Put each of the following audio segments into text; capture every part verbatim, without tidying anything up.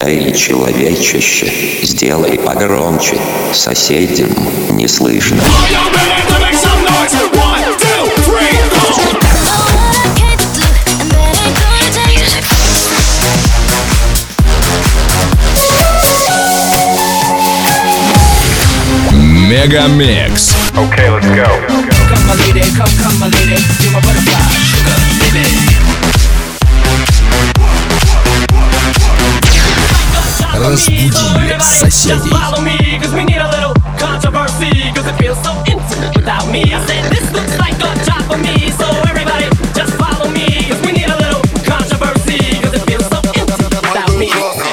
Эй, человечище, сделай погромче, соседям не слышно. Мегамикс. Okay, let's go. Come my lady, come, come my lady, you're my butterfly, sugar, baby. Разбуди соседей. Follow me, cause we need a little controversy, cause it feels so intimate without me. I said this looks like a job for me, so everybody just follow me, cause we need a little controversy, cause it feels so intimate without me.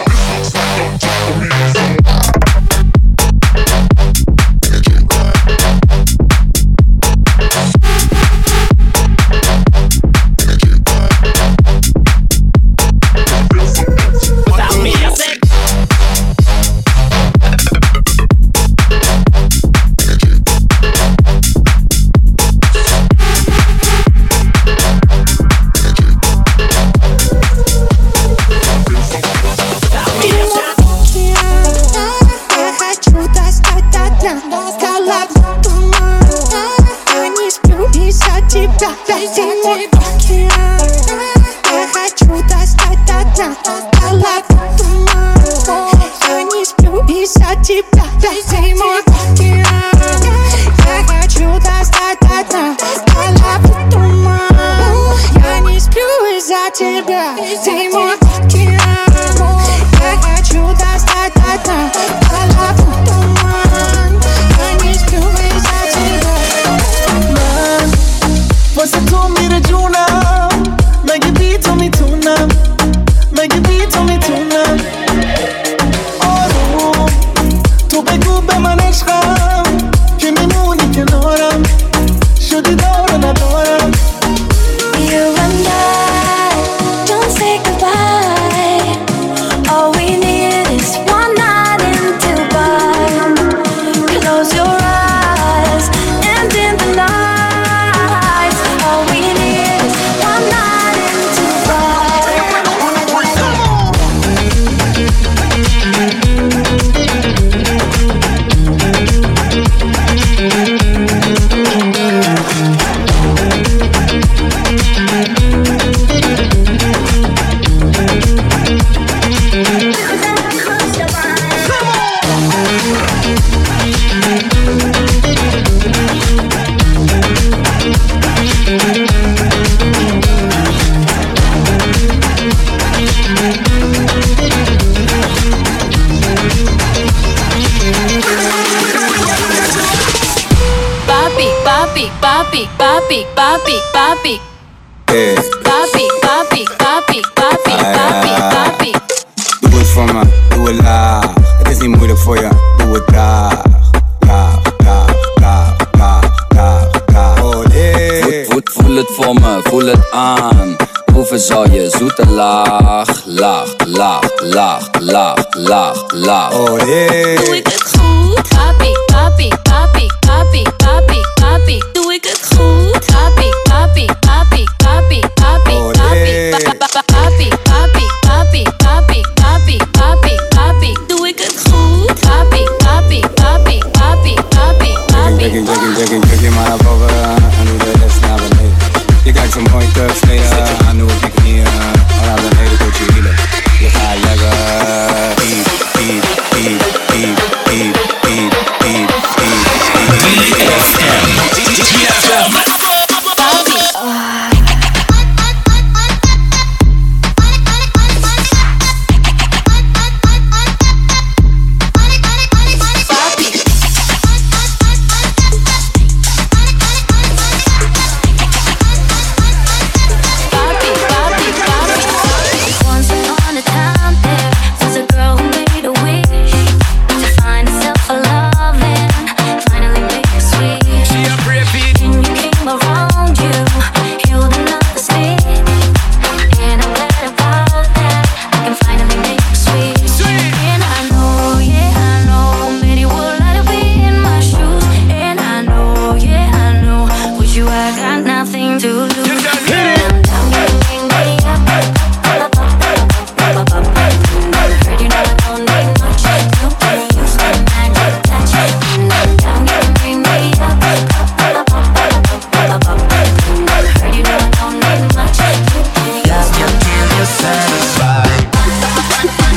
papi, papi, papi, papi, papi. Yeah. Papi, papi, papi, papi, papi, papi. Doe het voor me, doe het laag. Het is niet moeilijk voor je, doe het traag. Traag, traag, traag, traag, traag, traag. Oh nee. Voet, voet, voel het voor me, voel het aan. Proeven zal je zoete laag, laag, laag, laag, laag, laag, laag. Oh nee. Doe ik het goed? Papi, papi, papi, papi, papi, papi. Doe ik het goed? Papi, papi, papi, papi, papi, papi, papi, papi, papi, papi, papi, papi, papi. Doe ik het goed? Papi, papi, papi, papi, papi, papi. Druk je, druk je, druk je, druk je maar naar boven en doe de rest naar beneden. Je kijkt zo mooi terug, sneden aan, doe ik je knieën. Al naar beneden tot je hielen. Je gaat lekker. Piep, piep, piep, piep, piep, piep, piep, piep, piep. ди эф эм.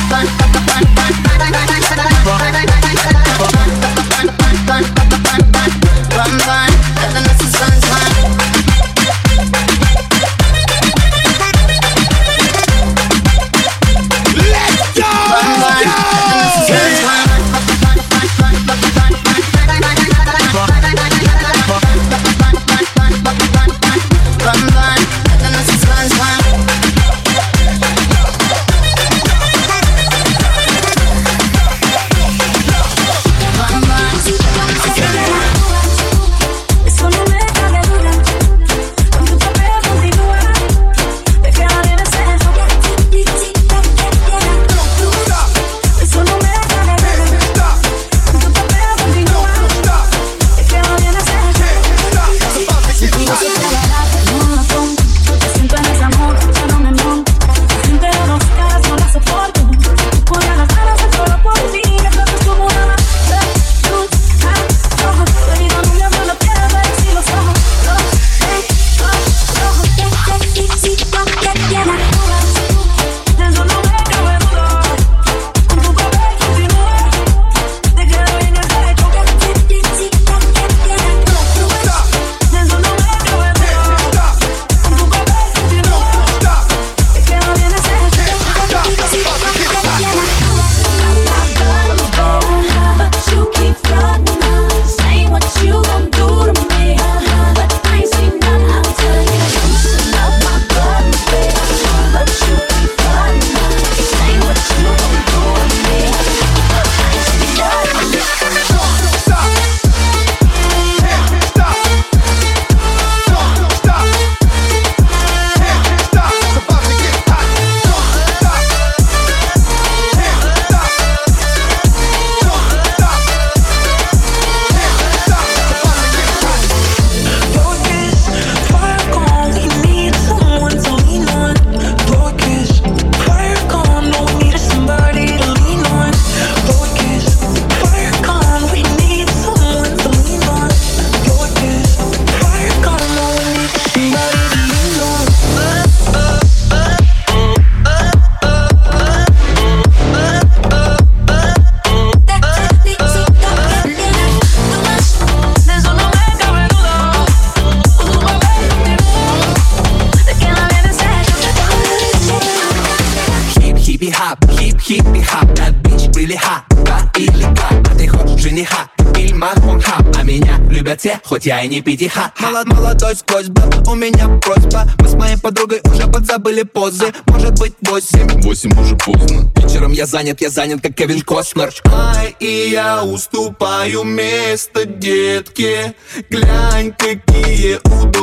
хип-хип-хип, that bitch really hot, да или как? А ты хочешь жениха, фильма хап, а меня любят все, хоть я и не пятиха. Молод, молодой сквозь баб, у меня просьба. Мы с моей подругой уже подзабыли позы. Может быть восемь, Восемь уже поздно. вечером я занят, я занят, как Кевин Костнер. Ай, и я уступаю место детке. Глянь, какие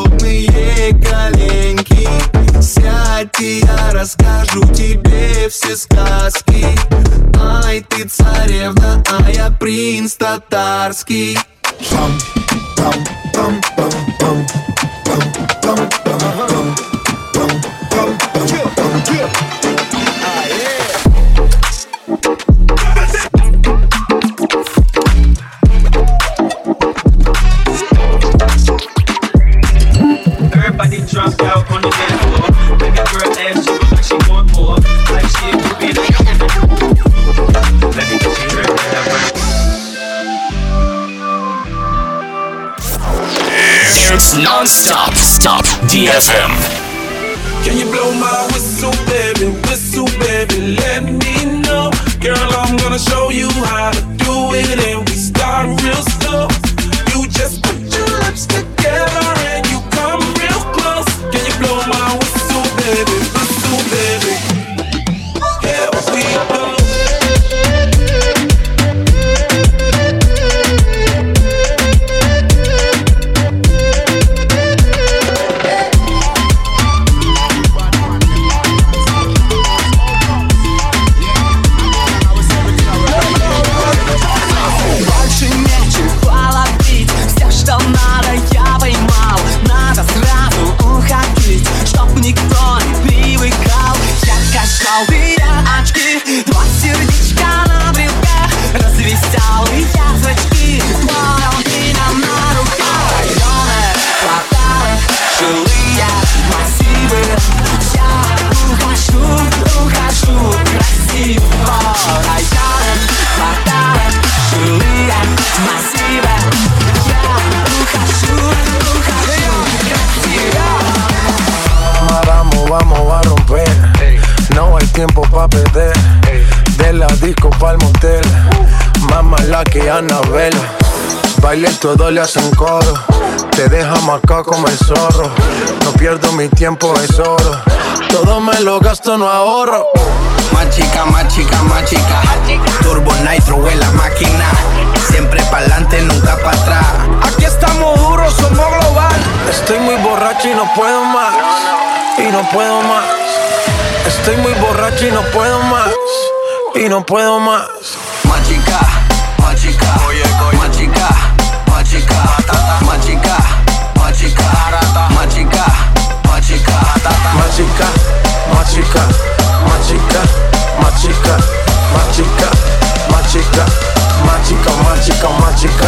удобные коленки. Сядь, и я расскажу тебе все сказки. Ай, ты царевна, а я принц татарский. Пам, пам, пам, пам, пам, пам, пам, пам, пам, пам, пам, пам, пам. Everybody drunk out on the dance floor. Make a girl ass, she look like she want more. Like she a groupie, like let me get you ready, that right. It's non-stop. Stop. ди эф эм. Can you blow my whistle, baby, whistle, baby, let me know. Girl, I'm gonna show you how to do it, and we start real slow. You just put your lips together and you come real close. Can you blow my whistle, baby, whistle, baby? Here we go. Районы, кварталы, жилые, массивы. Я ухожу, ухожу от тебя. Vamos, vamos a romper. No hay tiempo pa' perder. De la disco pa'l motel. Más mala que Annabelle. Baile todo le hacen coro. Te deja marcado como el zorro. No pierdo mi tiempo, es oro. Todo me lo gasto, no ahorro. Más chica, más chica, más chica. Turbo Nitro en la máquina. Siempre pa'lante, nunca pa' atrás. Aquí estamos duros, somos global. Estoy muy borracho y no puedo más. Y no puedo más. Estoy muy borracho y no puedo más. Y no puedo más. Más chica, más chica. Más chica, más chica. Más chica, más chica. Más chica, más chica. Más chica, más chica. Más chica, más chica. Más chica, más chica. Más chica, más chica, más chica.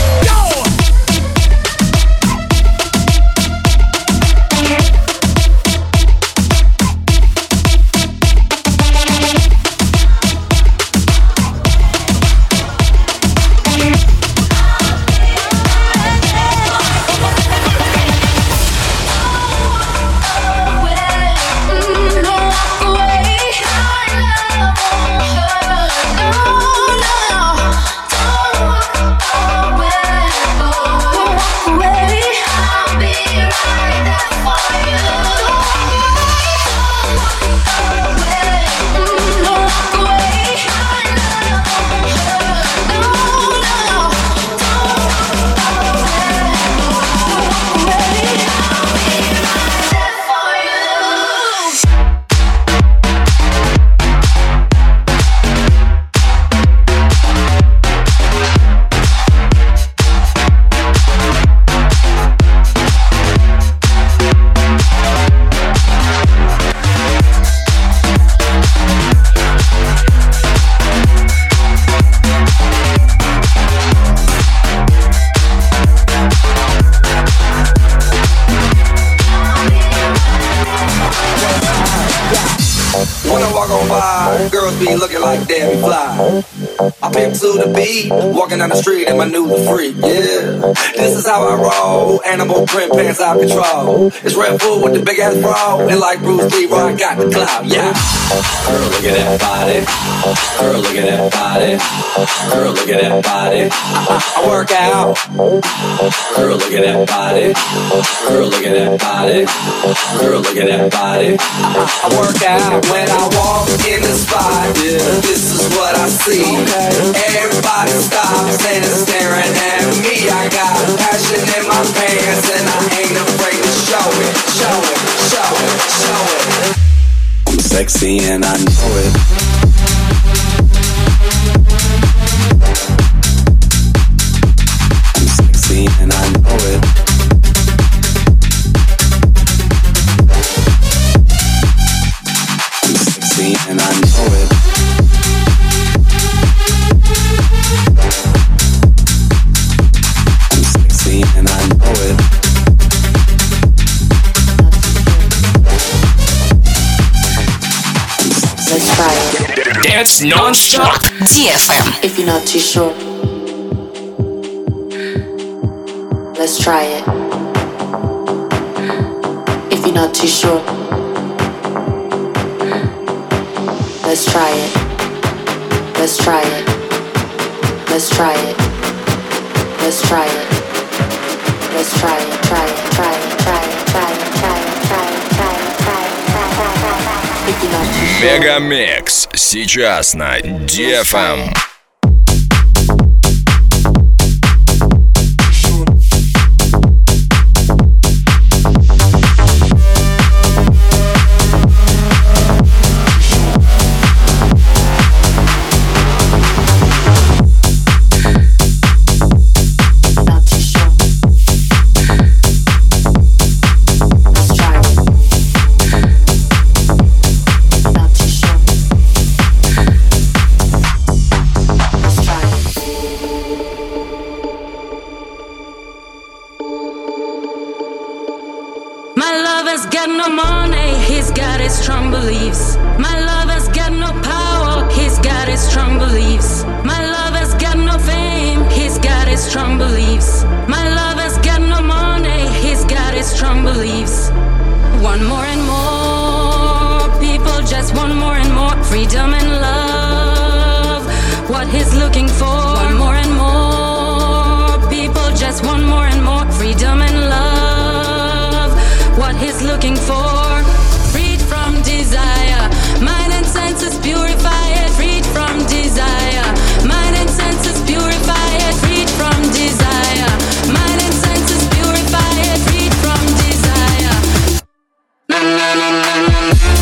be looking like Debbie Fly. I pimp to the beat, walking down the street in my new the freak, yeah. This is how I roll, animal print pants out control. It's Red Bull with the big ass bra, and like Bruce Lee, I got the clout, yeah. Girl, look at that body. Girl, look at that body. Girl, look at that body. I, I work out. Girl, look at that body. Girl, look at that body. Girl, look at that body. I, I work out when I walk in the spot. Yeah, this is what I see. Everybody stops and is staring at me. I got passion in my pants and I ain't afraid to show it, show it, show it, show it. I'm sexy and I know it. I'm sexy and I know it. I'm sexy and I know it. I'm sexy and I know it. Let's try it. Dance non-stop. ди эф эм. If you're not too sure, let's try it. If you're not too sure, let's try it. Let's try it. Let's try it. Let's try it. Let's try it. Try it. Try it. Try it. Try it. Try it. Try it. Try it. Try it. Try it. If you're not too sure. Мегамикс сейчас на ди эф эм. Strong beliefs. My lover's got no power, he's got his freedom and love. What he's looking for, want more and more. People just want more and more freedom and love. What he's looking for, freed from desire. Mind and senses purify it, freed from desire. Mind and senses purify it, freed from desire. Mind and senses purify it, freed from desire. Na na na na na.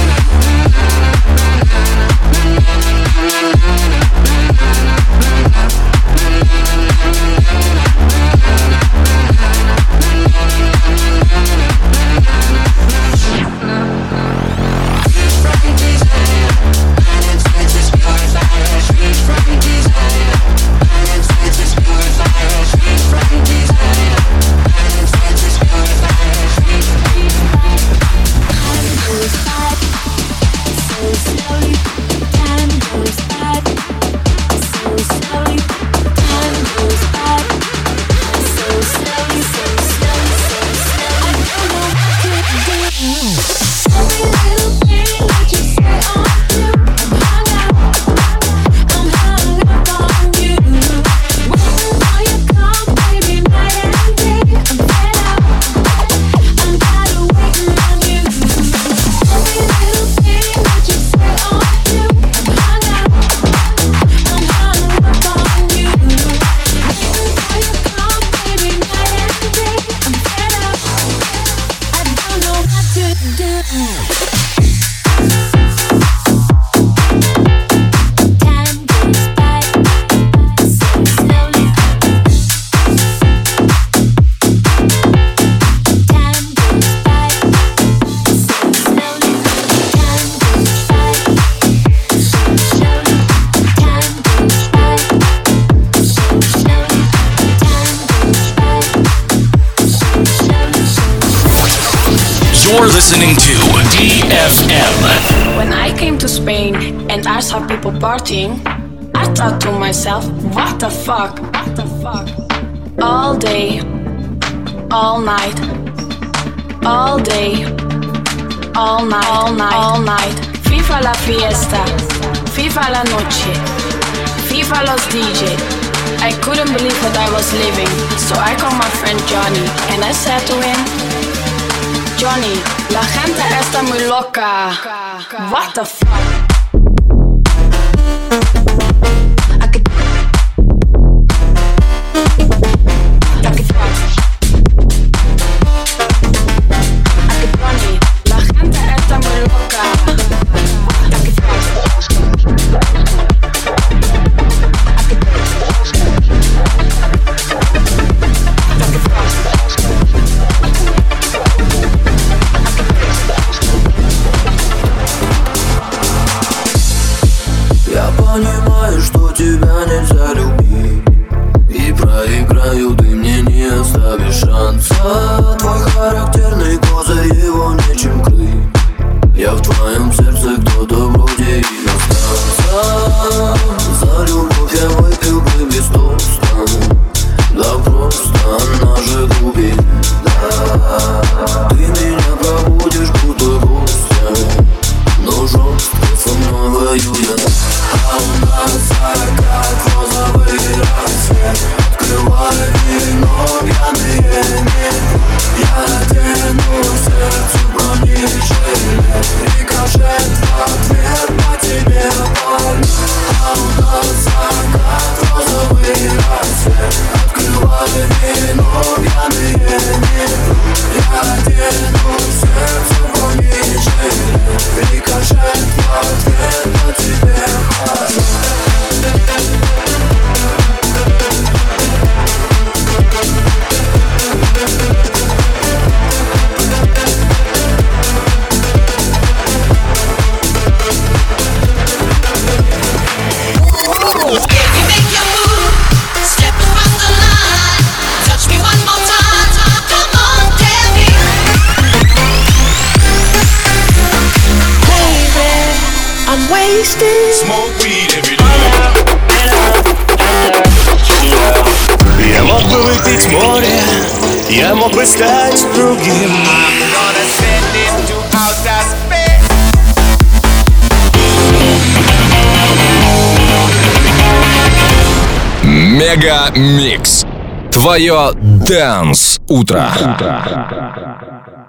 Listening to D F M. When I came to Spain and I saw people partying, I thought to myself, what the fuck? What the fuck? All day, all night, all day, all night, all night, all night. FIFA la fiesta, FIFA la noche, FIFA los D J. I couldn't believe what I was living, so I called my friend Johnny and I said to him, Johnny, la gente está muy loca. What the fuck? Понимаю, что тебя нельзя любить, и проиграю, ты мне не оставишь шанса. Твой характерный козырь, его нечем крыть. Я в твоем сердце кто-то вроде иностранца. За любовь я выпил бы без тоста, да просто она же глубин. Да, ты меня пробудишь, будто гостя, но жестко со мной воюя. А у нас закат, розовый рассвет. Открывай вино, пьяные небо. Я надену сердцу бронежилет. Рикошет в ответ по тебе больно. А у нас закат, розовый рассвет. Открывай вино, пьяные небо. Я надену сердцу бронежилет. Рикошет в ответ по тебе больно. Smoke weed every day. Я мог бы выпить море, я мог бы стать другим. I'm gonna send it to outer space. Мега Микс. Твое Dance утро.